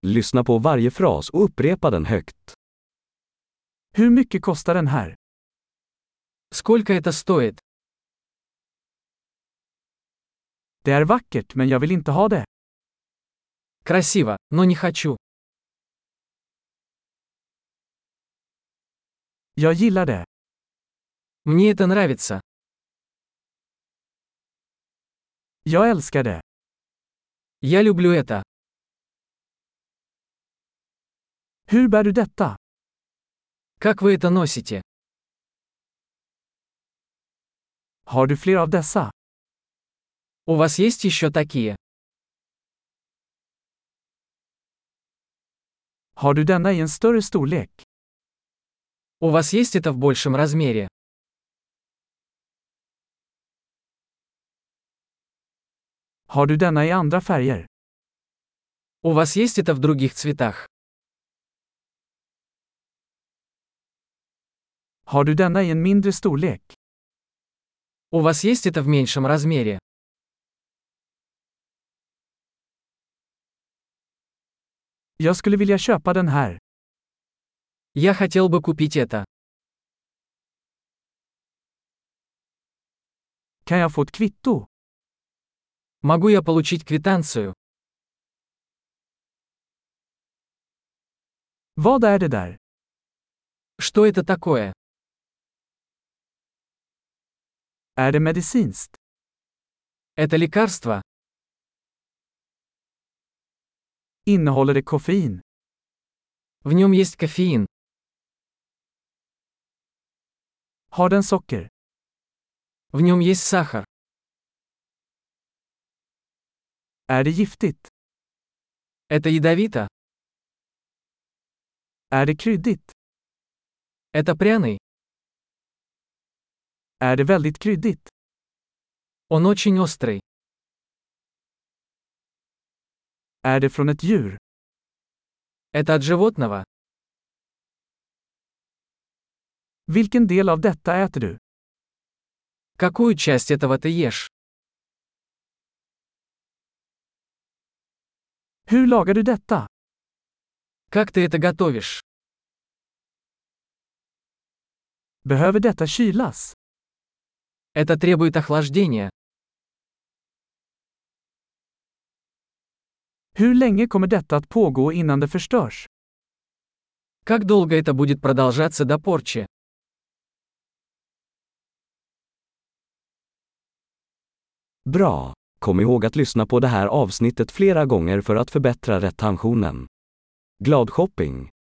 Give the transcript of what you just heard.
Lyssna på varje fras och upprepa den högt. Hur mycket kostar den här? Сколько это стоит? Det är vackert, men jag vill inte ha det. Красиво, но не хочу. Jag gillar det. Мне это нравится. Jag älskar det. Я люблю это. Hur bär du detta? Как вы это носите? Har du fler av dessa? У вас есть еще такие? Har du denna i en större storlek? У вас есть это в большем размере? Har du denna i andra färger? У вас есть это в других цветах? Har du denna i en mindre storlek? У вас есть это в меньшем размере? Jag skulle vilja köpa den här. Я хотел бы купить это. Kan jag få ett kvitto? Могу я получить квитанцию? Vad är det där? Что это такое? Är det medicinskt? Это лекарство? Innehåller det koffein? В нем есть кофеин. Har den socker? В нем есть сахар. Är det giftigt? Это ядовито? Är det kryddigt? Это пряный? Är det väldigt kryddigt? Он очень острый. Är det från ett djur? Это от животного? Vilken del av detta äter du? Какую часть этого ты ешь? Hur lagar du detta? Как ты это готовишь? Behöver detta kylas? Это требует охлаждения. Hur länge kommer detta att pågå innan det förstörs? Как долго это будет продолжаться до порчи? Bra! Kom ihåg att lyssna på det här avsnittet flera gånger för att förbättra retentionen. Glad shopping!